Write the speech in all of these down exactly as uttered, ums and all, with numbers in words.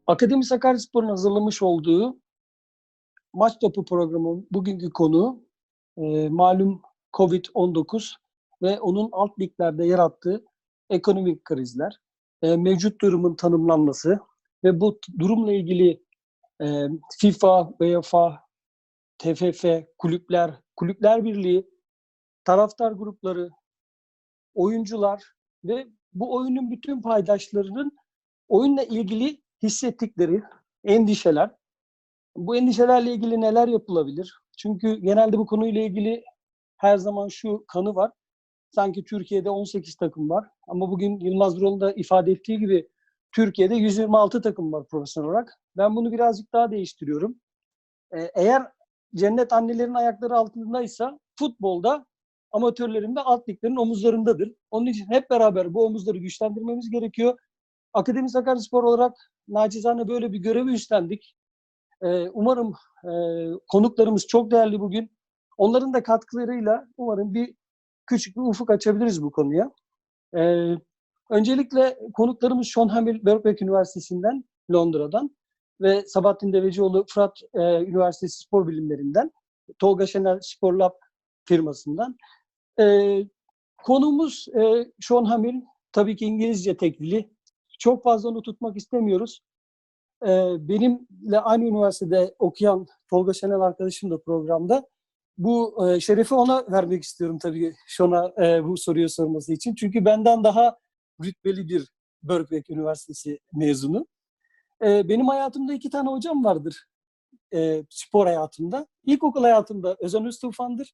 Akademi Sakaryaspor'un hazırlamış olduğu Maç Topu programının bugünkü konuğu e, malum kovid on dokuz ve onun alt liglerde yarattığı ekonomik krizler, e, mevcut durumun tanımlanması ve bu t- durumla ilgili e, FIFA, UEFA, T F F, kulüpler, kulüpler birliği, taraftar grupları, oyuncular ve bu oyunun bütün paydaşlarının oyunla ilgili hissettikleri endişeler. Bu endişelerle ilgili neler yapılabilir? Çünkü genelde bu konuyla ilgili her zaman şu kanı var. Sanki Türkiye'de on sekiz takım var. Ama bugün Yılmaz Vural'ın da ifade ettiği gibi Türkiye'de yüz yirmi altı takım var profesyonel olarak. Ben bunu birazcık daha değiştiriyorum. Ee, eğer cennet annelerin ayakları altındaysa futbolda amatörlerin ve alt liglerin omuzlarındadır. Onun için hep beraber bu omuzları güçlendirmemiz gerekiyor. Akademi Sakaryaspor olarak nacizane böyle bir görevi üstlendik. Ee, umarım e, konuklarımız çok değerli bugün. Onların da katkılarıyla umarım bir küçük bir ufuk açabiliriz bu konuya. Ee, öncelikle konuklarımız Sean Hamill Birkbeck Üniversitesi'nden, Londra'dan ve Sabahattin Devecioğlu Fırat e, Üniversitesi Spor Bilimleri'nden, Tolga Şener Spor Lab firmasından. Ee, konuğumuz e, Sean Hamill, tabii ki İngilizce tek dili. Çok fazla onu tutmak istemiyoruz. Ee, benimle aynı üniversitede okuyan Tolga Şenel arkadaşım da programda. Bu e, şerefi ona vermek istiyorum tabii Şon'a e, bu soruyu sorması için. Çünkü benden daha rütbeli bir Birkbeck Üniversitesi mezunu. E, benim hayatımda iki tane hocam vardır e, spor hayatımda. İlkokul hayatımda Özen Öztufan'dır.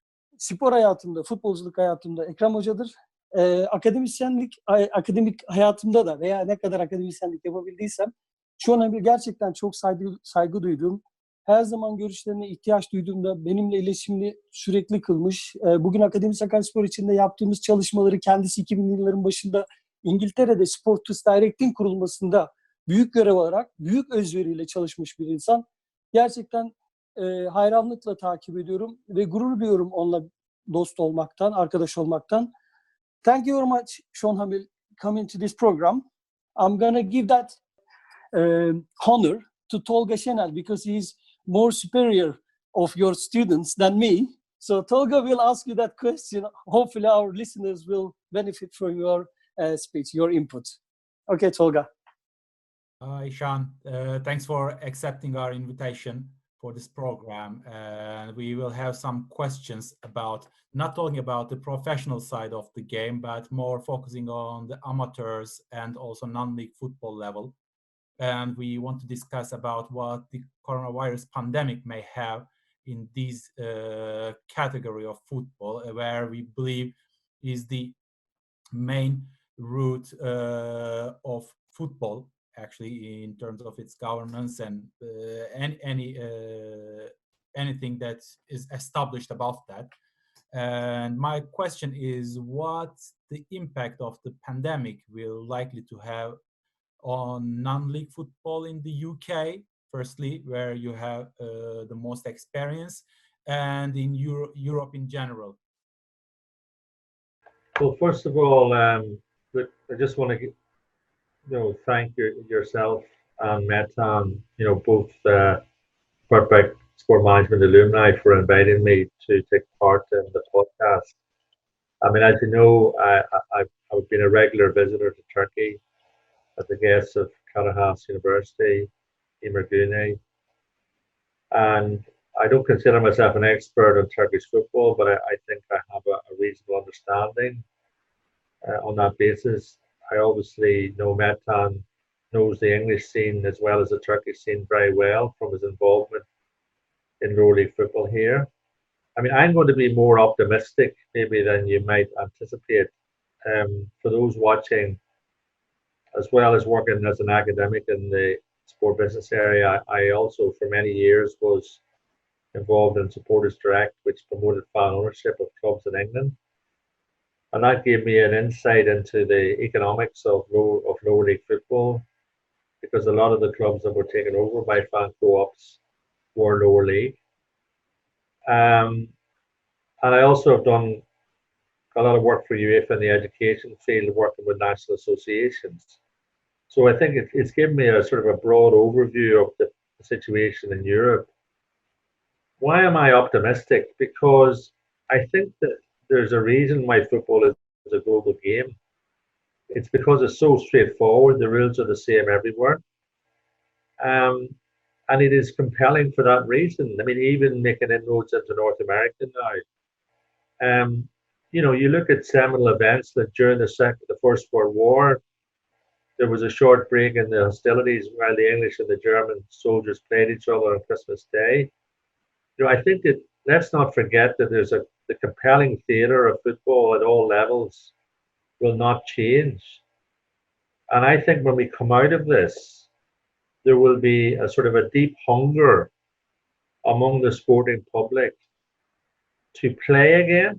Spor hayatımda, futbolculuk hayatımda Ekrem Hoca'dır. E, akademisyenlik, akademik hayatımda da veya ne kadar akademisyenlik yapabildiysem şu an bir gerçekten çok saygı, saygı duyduğum, her zaman görüşlerine ihtiyaç duyduğumda benimle iletişimini sürekli kılmış. E, bugün Akademi Sakaryaspor içinde yaptığımız çalışmaları kendisi iki binli yılların başında İngiltere'de Sports Direct'in kurulmasında büyük görev alarak, büyük özveriyle çalışmış bir insan. Gerçekten e, hayranlıkla takip ediyorum ve gurur duyuyorum onunla dost olmaktan, arkadaş olmaktan. Thank you very much, Sean Hamill, coming to this program. I'm gonna give that uh, honor to Tolga Şenel because he's more superior of your students than me. So Tolga will ask you that question. Hopefully our listeners will benefit from your uh, speech, your input. Okay, Tolga. Hi, Sean. Uh, thanks for accepting our invitation for this program. And uh, we will have some questions about not talking about the professional side of the game, but more focusing on the amateurs and also non-league football level. And we want to discuss about what the coronavirus pandemic may have in this uh, category of football, where we believe is the main root uh, of football, actually, in terms of its governance and uh, any, any uh, anything that is established about that. And my question is, what the impact of the pandemic will likely to have on non-league football in the U K, firstly, where you have uh, the most experience, and in Euro- Europe in general? Well, first of all, um, I just want to, you know, thank your, yourself and Metan, you know, both uh, Birkbeck Sport Management alumni for inviting me to take part in the podcast. I mean, as you know, I, I, I've been a regular visitor to Turkey as a guest of Karahas University, Emirgune, and I don't consider myself an expert on Turkish football, but I, I think I have a, a reasonable understanding. Uh, on that basis, I obviously know Metan knows the English scene as well as the Turkish scene very well from his involvement in lower league football here. I mean, I'm going to be more optimistic maybe than you might anticipate. Um, for those watching, as well as working as an academic in the sport business area, I also for many years was involved in Supporters Direct, which promoted fan ownership of clubs in England. And that gave me an insight into the economics of low of lower league football, because a lot of the clubs that were taken over by fan co-ops were lower league. Um, and I also have done a lot of work for UEFA in the education field, working with national associations. So I think it, it's given me a sort of a broad overview of the situation in Europe. Why am I optimistic? Because I think that there's a reason why football is a global game. It's because it's so straightforward. The rules are the same everywhere. Um, and it is compelling for that reason. I mean, even making inroads into North America now. Um, you know, you look at seminal events that during the second, the First World War, there was a short break in the hostilities while the English and the German soldiers played each other on Christmas Day. You know, I think that let's not forget that there's a the compelling theatre of football at all levels will not change. And I think when we come out of this, there will be a sort of a deep hunger among the sporting public to play again,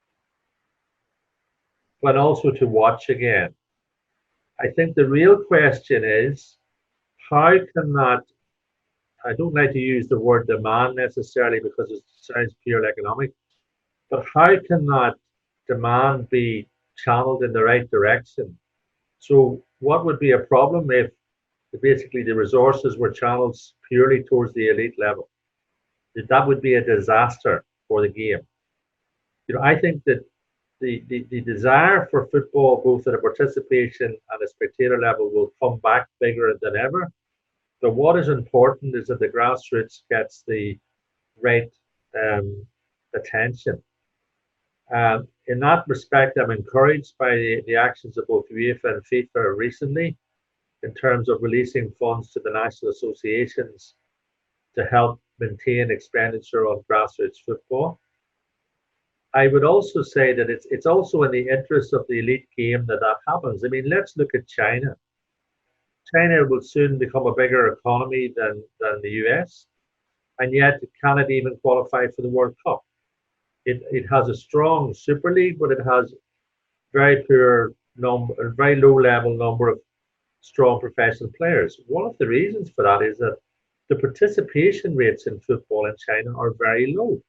but also to watch again. I think the real question is, how can that, I don't like to use the word demand necessarily because it sounds purely economic, but how can that demand be channeled in the right direction? So what would be a problem if basically the resources were channeled purely towards the elite level? That would be a disaster for the game. You know, I think that the, the, the desire for football, both at a participation and a spectator level, will come back bigger than ever. But what is important is that the grassroots gets the right um, attention. Um, in that respect, I'm encouraged by the, the actions of both UEFA and FIFA recently in terms of releasing funds to the national associations to help maintain expenditure on grassroots football. I would also say that it's it's also in the interest of the elite game that that happens. I mean, let's look at China. China will soon become a bigger economy than, than the U S, and yet it cannot even qualify for the World Cup. It, it has a strong Super League, but it has very poor number, a very low level number of strong professional players. One of the reasons for that is that the participation rates in football in China are very low.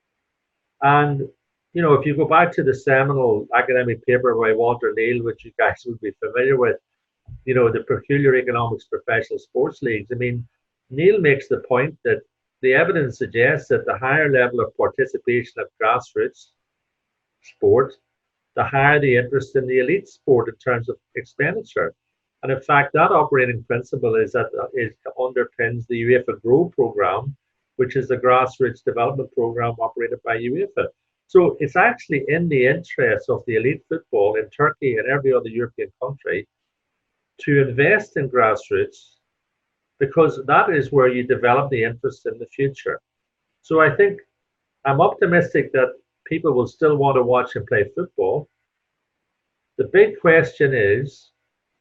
And, you know, if you go back to the seminal academic paper by Walter Neal, which you guys would be familiar with, you know, the peculiar economics of professional sports leagues, I mean, Neal makes the point that the evidence suggests that the higher level of participation of grassroots sport, the higher the interest in the elite sport in terms of expenditure. And in fact, that operating principle is that it underpins the UEFA Grow program, which is the grassroots development program operated by UEFA. So it's actually in the interest of the elite football in Turkey and every other European country to invest in grassroots, because that is where you develop the interest in the future. So I think I'm optimistic that people will still want to watch and play football. The big question is,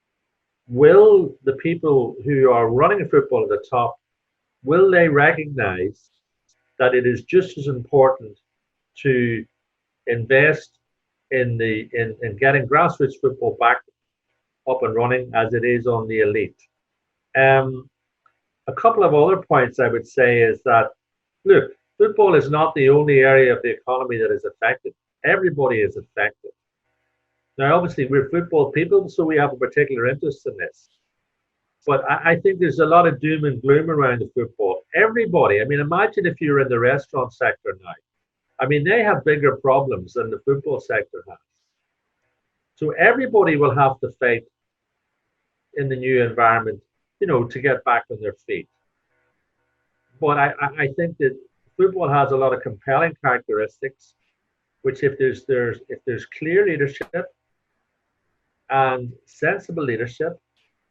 will the people who are running football at the top, will they recognize that it is just as important to invest in the in, in getting grassroots football back up and running as it is on the elite? Um, a couple of other points I would say is that, look, football is not the only area of the economy that is affected. Everybody is affected. Now, obviously, we're football people, so we have a particular interest in this. But I, I think there's a lot of doom and gloom around the football. Everybody, I mean, imagine if you're in the restaurant sector now. I mean, they have bigger problems than the football sector has. So everybody will have to fight in the new environment, you know, to get back on their feet. But I, I think that football has a lot of compelling characteristics, which if there's there's if there's clear leadership and sensible leadership,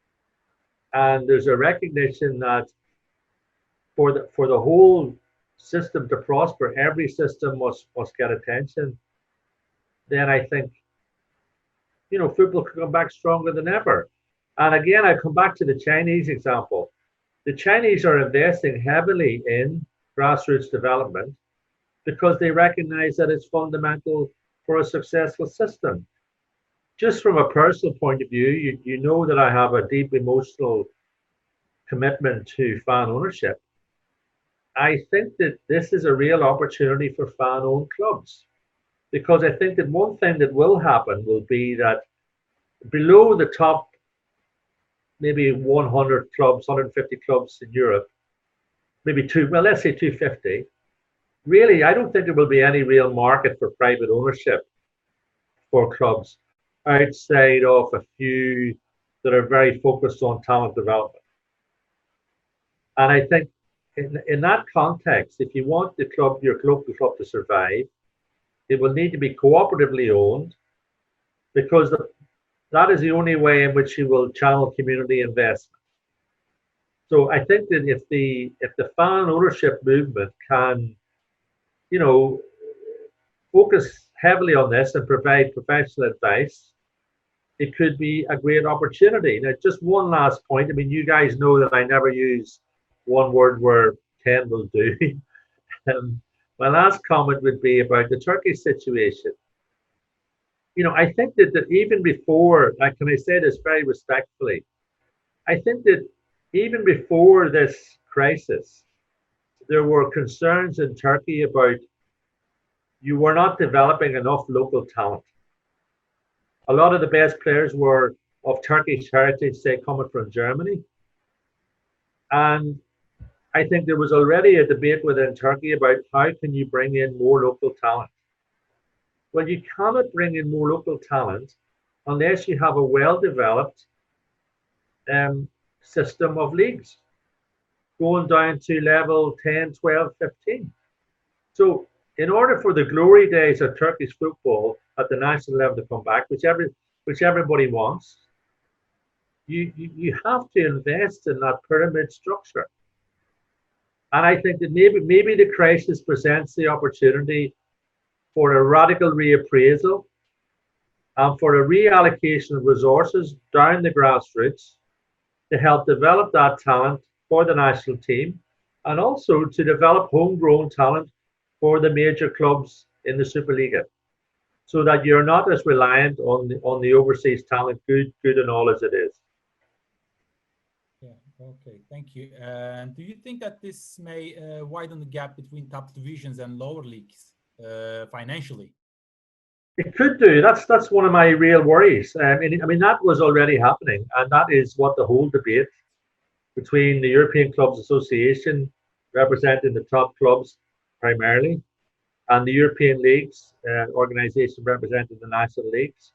and there's a recognition that for the for the whole system to prosper, every system must must get attention, then I think, you know, football could come back stronger than ever. And again, I come back to the Chinese example. The Chinese are investing heavily in grassroots development because they recognize that it's fundamental for a successful system. Just from a personal point of view, you, you know that I have a deep emotional commitment to fan ownership. I think that this is a real opportunity for fan-owned clubs, because I think that one thing that will happen will be that below the top maybe one hundred clubs, one hundred fifty clubs in Europe, maybe two, well, let's say two hundred fifty. Really, I don't think there will be any real market for private ownership for clubs outside of a few that are very focused on talent development. And I think in, in that context, if you want the club, your local club to survive, it will need to be cooperatively owned, because the, that is the only way in which you will channel community investment. So I think that if the if the fan ownership movement can, you know, focus heavily on this and provide professional advice, it could be a great opportunity. Now, just one last point. I mean, you guys know that I never use one word where ten will do. um, my last comment would be about the Turkish situation. You know, I think that, that even before, like, can I say this very respectfully? I think that even before this crisis, there were concerns in Turkey about you were not developing enough local talent. A lot of the best players were of Turkish heritage, say, coming from Germany. And I think there was already a debate within Turkey about how can you bring in more local talent. Well, you cannot bring in more local talent unless you have a well-developed um, system of leagues going down to level ten, twelve, fifteen. So in order for the glory days of Turkish football at the national level to come back, which, every, which everybody wants, you, you, you have to invest in that pyramid structure. And I think that maybe, maybe the crisis presents the opportunity for a radical reappraisal and for a reallocation of resources down the grassroots to help develop that talent for the national team, and also to develop homegrown talent for the major clubs in the Superliga, so that you're not as reliant on the, on the overseas talent, good, good and all as it is. Yeah, okay, thank you. And do you think that this may uh, widen the gap between top divisions and lower leagues uh, financially? It could do. That's that's one of my real worries. Um, and I mean, that was already happening, and that is what the whole debate between the European Clubs Association, representing the top clubs primarily, and the European Leagues uh, organization representing the national leagues,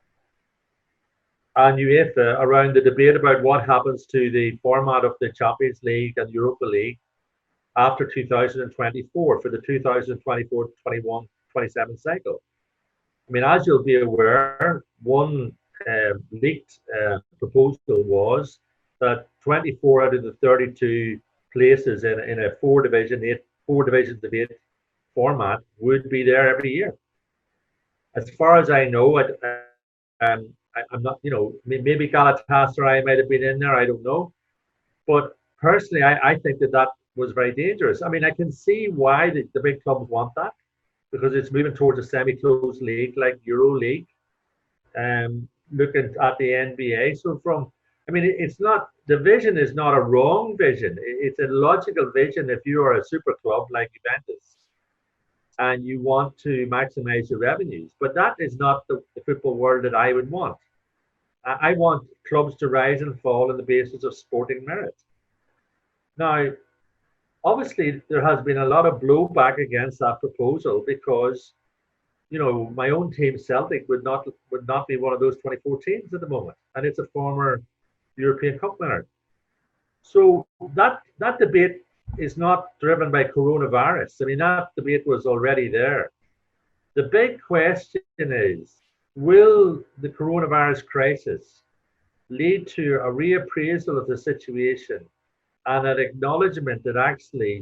and UEFA around the debate about what happens to the format of the Champions League and Europa League after two thousand twenty-four for the two thousand twenty-four twenty-one twenty-seven cycle. I mean, as you'll be aware, one uh, leaked uh, proposal was that twenty-four out of the thirty-two places in, in a four division, eight, four divisions of eight format would be there every year. As far as I know, I, um, I, I'm not, you know, maybe Galatasaray might have been in there, I don't know. But personally, I, I think that that was very dangerous. I mean, I can see why the, the big clubs want that, because it's moving towards a semi-closed league like Euro League, um, looking at the N B A. So from, I mean, it's not, the vision is not a wrong vision. It's a logical vision if you are a super club like Juventus and you want to maximize your revenues. But that is not the, the football world that I would want. I want clubs to rise and fall on the basis of sporting merit. Now, obviously, there has been a lot of blowback against that proposal because, you know, my own team, Celtic, would not would not be one of those twenty-four teams at the moment, and it's a former European Cup winner. So that that debate is not driven by coronavirus. I mean, that debate was already there. The big question is, will the coronavirus crisis lead to a reappraisal of the situation and an acknowledgement that actually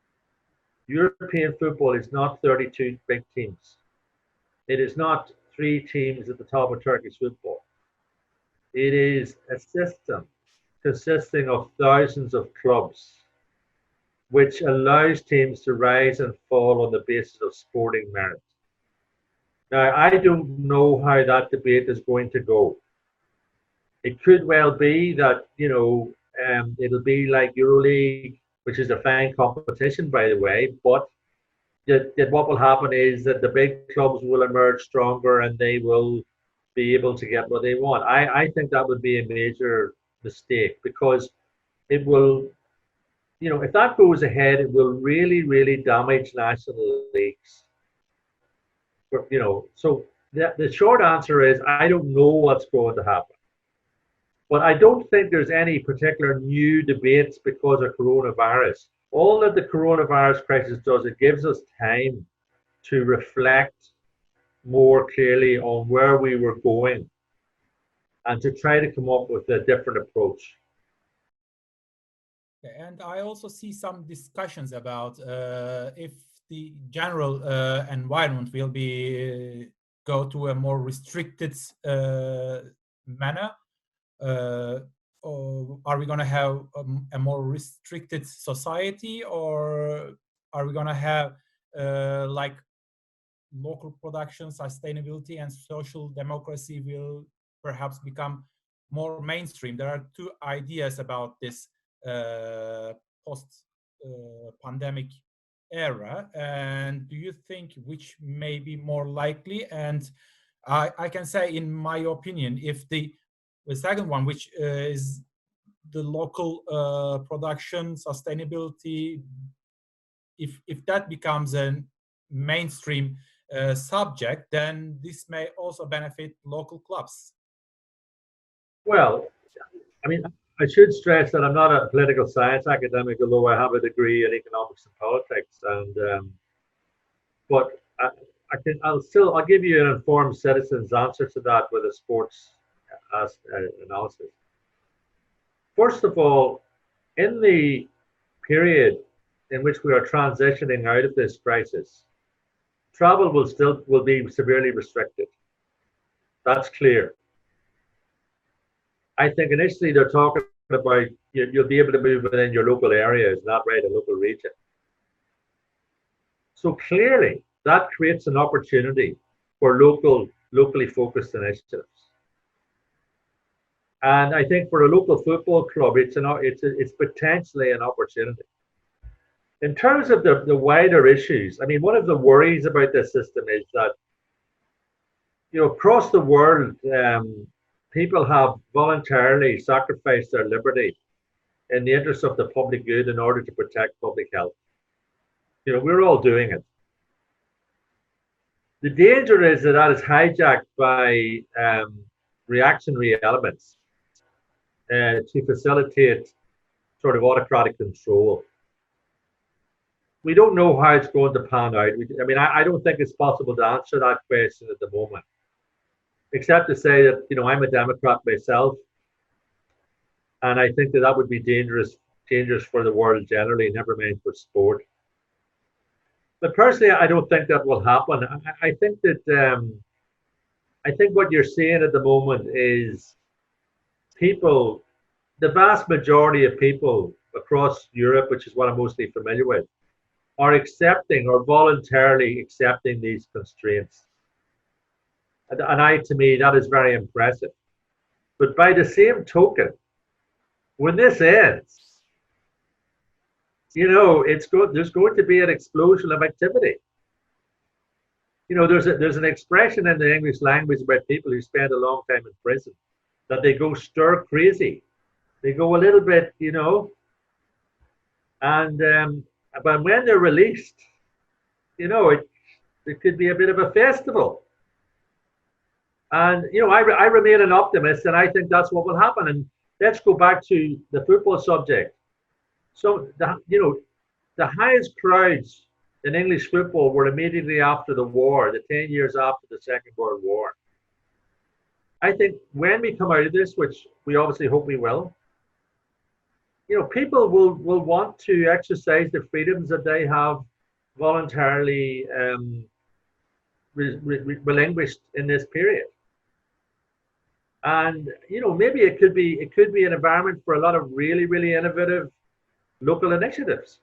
European football is not thirty-two big teams. It is not three teams at the top of Turkish football. It is a system consisting of thousands of clubs, which allows teams to rise and fall on the basis of sporting merit. Now, I don't know how that debate is going to go. It could well be that, you know, Um, it'll be like EuroLeague, which is a fine competition, by the way, but that, that what will happen is that the big clubs will emerge stronger and they will be able to get what they want. I, I think that would be a major mistake, because it will, you know, if that goes ahead, it will really, really damage national leagues. But, you know, so the, the short answer is I don't know what's going to happen. But I don't think there's any particular new debates because of coronavirus. All that the coronavirus crisis does, it gives us time to reflect more clearly on where we were going and to try to come up with a different approach. And I also see some discussions about uh, if the general uh, environment will be uh, go to a more restricted uh, manner. Uh, or are we going to have a, a more restricted society, or are we going to have uh, like local production, sustainability, and social democracy will perhaps become more mainstream? There are two ideas about this uh, post-pandemic uh, era, and do you think which may be more likely? And I, I can say, in my opinion, if the the second one, which uh, is the local uh, production, sustainability, if if that becomes a mainstream uh, subject, then this may also benefit local clubs. Well, I mean, I should stress that I'm not a political science academic, although I have a degree in economics and politics. And um, but I, I can, I'll still, I'll give you an informed citizen's answer to that with a sports uh, analysis. First of all, in the period in which we are transitioning out of this crisis, travel will still will be severely restricted. That's clear. I think initially they're talking about you, you'll be able to move within your local areas, not right a local region. So clearly that creates an opportunity for local, locally focused initiatives. And I think for a local football club, it's an it's a, it's potentially an opportunity. In terms of the, the wider issues, I mean, one of the worries about this system is that, you know, across the world, um, people have voluntarily sacrificed their liberty in the interest of the public good in order to protect public health. You know, we're all doing it. The danger is that that is hijacked by um, reactionary elements uh, to facilitate sort of autocratic control. We don't know how it's going to pan out. We, I mean, I, I don't think it's possible to answer that question at the moment, except to say that, you know, I'm a Democrat myself, and I think that that would be dangerous, dangerous for the world generally, never mind for sport. But personally, I don't think that will happen. I, I think that um, I think what you're seeing at the moment is people, the vast majority of people across Europe, which is what I'm mostly familiar with, are accepting or voluntarily accepting these constraints. And, and I, to me, that is very impressive. But by the same token, when this ends, you know, it's go there's going to be an explosion of activity. You know, there's a, there's an expression in the English language about people who spend a long time in prison, that they go stir crazy. They go a little bit, you know, and um, but when they're released, you know, it, it could be a bit of a festival. And, you know, I, I remain an optimist, and I think that's what will happen. And let's go back to the football subject. So, the, you know, the highest crowds in English football were immediately after the war, the ten years after the Second World War. I think when we come out of this, which we obviously hope we will, you know, people will, will want to exercise the freedoms that they have voluntarily um, re re relinquished in this period. And, you know, maybe it could be it could be an environment for a lot of really, really innovative local initiatives.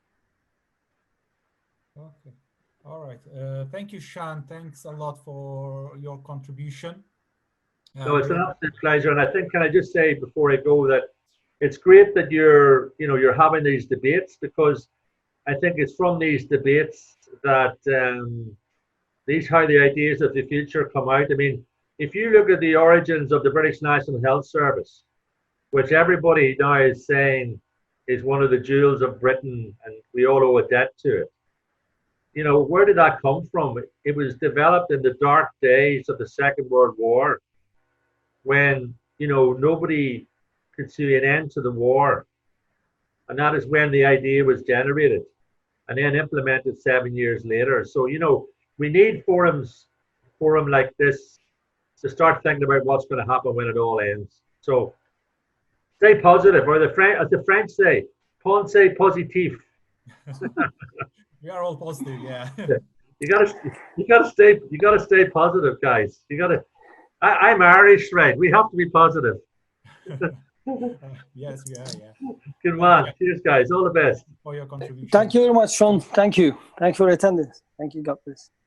Okay. All right. Uh, thank you, Sean. Thanks a lot for your contribution. Uh, No, it's an absolute pleasure. And I think, can I just say before I go that it's great that you're, you know, you're having these debates, because I think it's from these debates that um, these how the ideas of the future come out. I mean, if you look at the origins of the British National Health Service, which everybody now is saying is one of the jewels of Britain, and we all owe a debt to it. You know, where did that come from? It was developed in the dark days of the Second World War, when, you know, nobody could see an end to the war. And that is when the idea was generated and then implemented seven years later. So, you know, we need forums, forum like this to start thinking about what's going to happen when it all ends. So stay positive, or the French, as the French say, pensez positif. We are all positive, yeah. You gotta, you gotta stay, you gotta stay positive, guys. You gotta. I, I'm Irish, right? We have to be positive. Uh, yes, we are, yeah. Good man. Cheers, guys. All the best. For your contribution. Thank you very much, Sean. Thank you. Thanks for attending. Thank you. God bless.